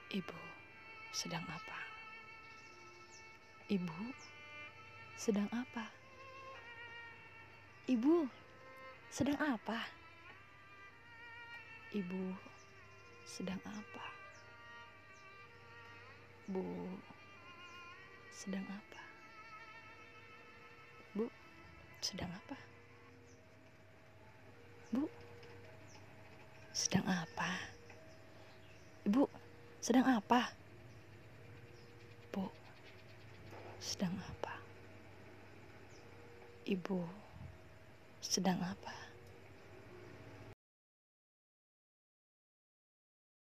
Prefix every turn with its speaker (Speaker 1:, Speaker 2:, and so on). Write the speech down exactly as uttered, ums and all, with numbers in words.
Speaker 1: Ibu sedang apa? Ibu sedang apa? Ibu sedang apa? Ibu sedang apa? Bu sedang apa? Bu sedang apa? Bu sedang apa? Ibu sedang apa? Bu sedang apa? Ibu sedang apa?